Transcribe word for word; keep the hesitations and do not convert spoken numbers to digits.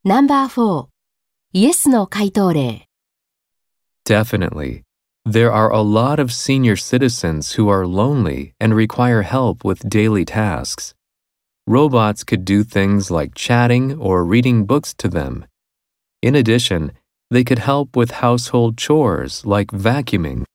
ナンバーフォー、イエスの回答例。 Definitely. There are a lot of senior citizens who are lonely and require help with daily tasks. Robots could do things like chatting or reading books to them. In addition, they could help with household chores like vacuuming